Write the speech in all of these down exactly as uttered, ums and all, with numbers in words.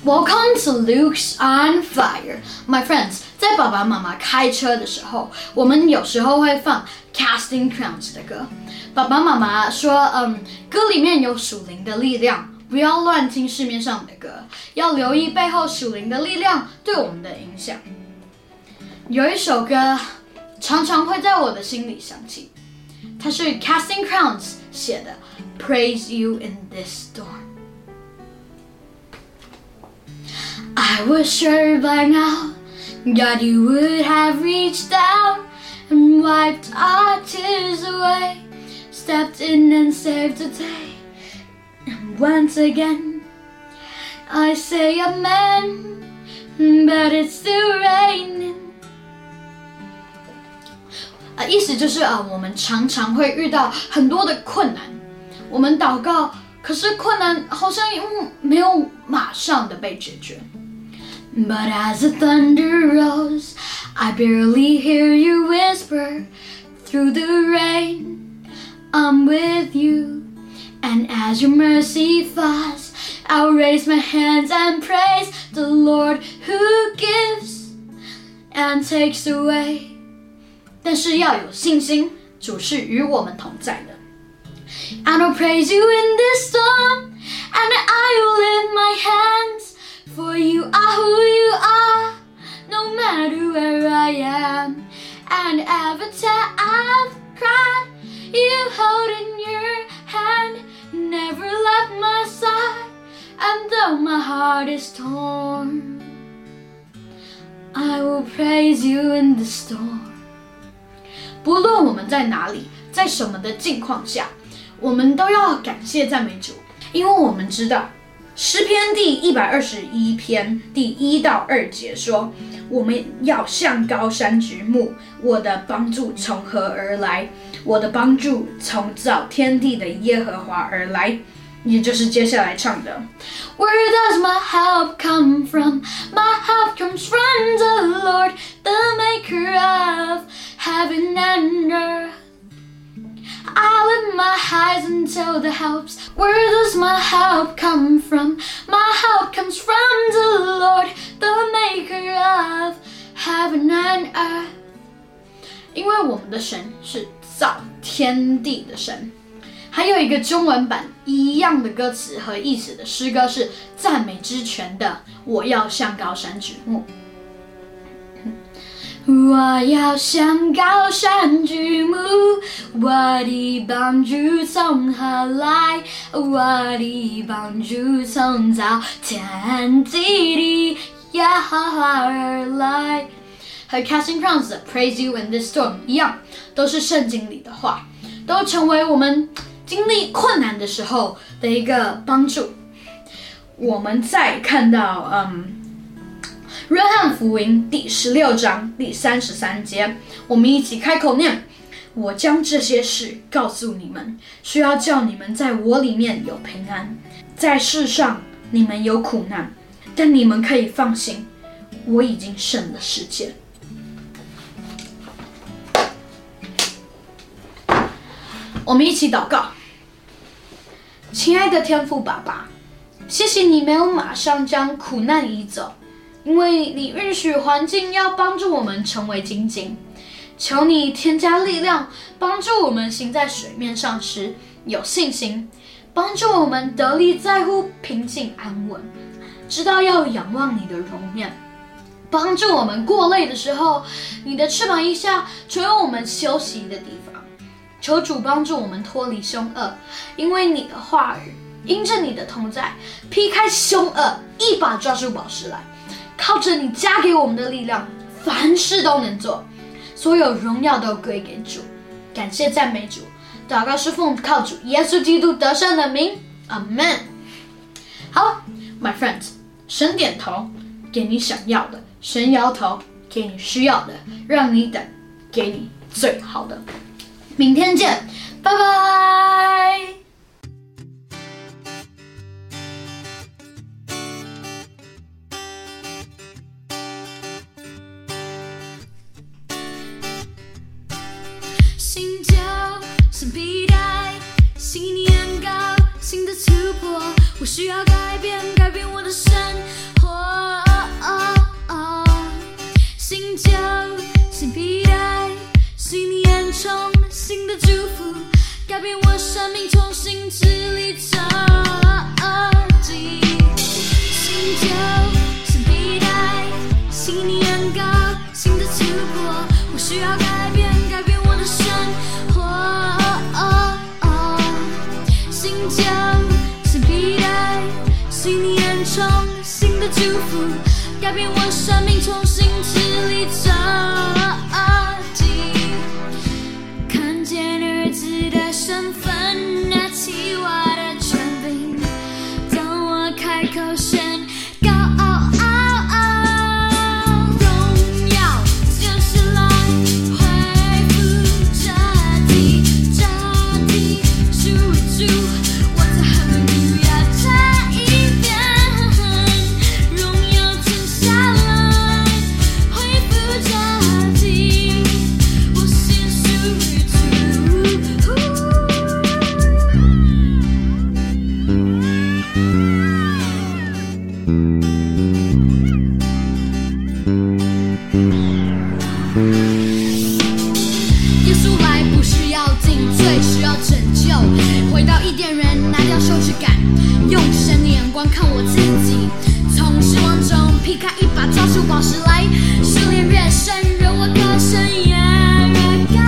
Welcome to Luke's on Fire, my friends. 在爸爸妈妈开车的时候，我们有时候会放 Casting Crowns 的歌。爸爸妈妈说，嗯，歌里面有属灵的力量，不要乱听市面上的歌，要留意背后属灵的力量对我们的影响。有一首歌常常会在我的心里响起，它是 Casting Crowns 写的 Praise You in This Storm。I was sure by now God you would have reached down and wiped our tears away, stepped in and saved the day. And once again I say amen, but it's still raining. 啊，意思就是啊，我们常常会遇到很多的困难，我们祷告，可是困难好像没有马上的被解决。But as the thunder rolls, I barely hear you whisper through the rain, I'm with you. And as your mercy falls, I'll raise my hands and praise the Lord who gives and takes away. 但是要有信心，主是与我们同在的。And I'll praise you in this storm, and I will lift my hands.For you are who you are, no matter where I am. And every time I've cried, you hold in your hand, never left my side. And though my heart is torn, I will praise you in the storm. 不论我们在哪里，在什么的境况下，我们都要感谢赞美主，因为我们知道诗篇第一百二十一篇第一到二节说，我们要向高山举目，我的帮助从何而来？我的帮助从造天地的耶和华而来，也就是接下来唱的 Where does my help come from? My help comes from the Lord, the maker of heaven and earth.I lift my eyes until the helps. Where does my help come from? My help comes from the Lord, the maker of heaven and earth. 因为我们的神是造天地的神。还有一个中文版一样的歌词和意思的诗歌是赞美之泉的我要向高山举目。我要向高山举目，我的帮助从何来？我的帮助从造天地的耶和华而来。和 Casting Crowns 的 Praise You in This Storm 一样，都是圣经里的话，都成为我们经历困难的时候的一个帮助。我们再看到，嗯。约翰福音第十六章第三十三节，我们一起开口念：我将这些事告诉你们，是要叫你们在我里面有平安。在世上你们有苦难，但你们可以放心，我已经胜了世界。我们一起祷告。亲爱的天父爸爸，谢谢你没有马上将苦难移走，因为你允许环境要帮助我们成为精进。求你添加力量，帮助我们行在水面上时有信心，帮助我们得力在乎平静安稳，知道要仰望你的容面，帮助我们过累的时候，你的翅膀一下就有我们休息的地方。求主帮助我们脱离凶恶，因为你的话语，因着你的同在，劈开凶恶，一把抓住宝石来。靠着你加给我们的力量，凡事都能做，所有荣耀都归给主。感谢赞美主，祷告是奉靠主耶稣基督得胜的名，阿们。好 ，my friends， 神点头给你想要的，神摇头给你需要的，让你等，给你最好的。明天见，拜拜。心跳像皮带，信念高，新的突破，我需要改变，改变我的生活。 生命重新支离折击。新旧是替代，新年高，新的突破，我需要改变，改变我的生活。新旧是替代，新年重，新的祝福，改变我生命重新支离折击。看见儿子的身份，拿起我的权柄，当我开口宣告，荣耀就是来恢复这地，这地属于主，我在哈利路亚这一边，荣耀停下来恢复这地，我心属于主。耶稣来不是要定罪，是要拯救，回到伊甸园，拿掉羞耻感，用神的眼光看我自己，从失望中劈开一把，抓住宝石来，试炼越深，让我歌声也越高。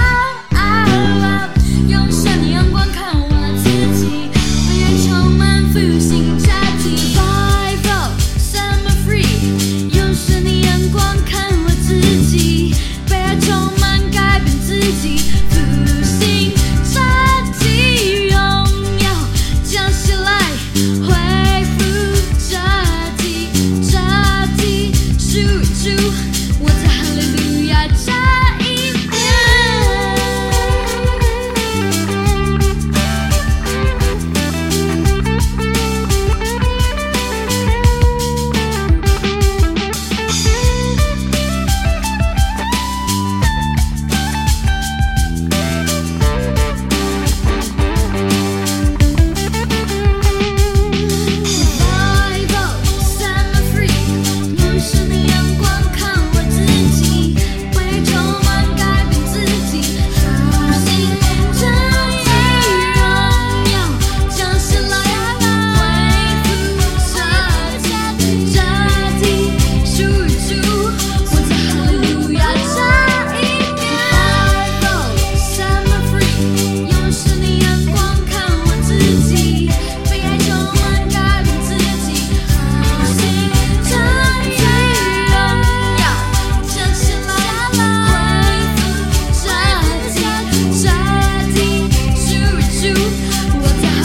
用神的眼光看我自己，被爱充满复兴这地 Revival set me free。用神的眼光看我自己，被爱充满改变自己，复兴这地，荣耀降下来恢复这地，这地属于主，我在哈利路亚这一边。Revival set me free， 用神的眼光看我自己，被爱充满改变自己，复兴这地，荣耀降下来恢复这地，这地属于主，我在哈利路亚这一边。Revival set me free， 用神的眼光看我自己，被爱充满改变自己，复兴这地，荣耀降下来恢复这地，这地属于主，我在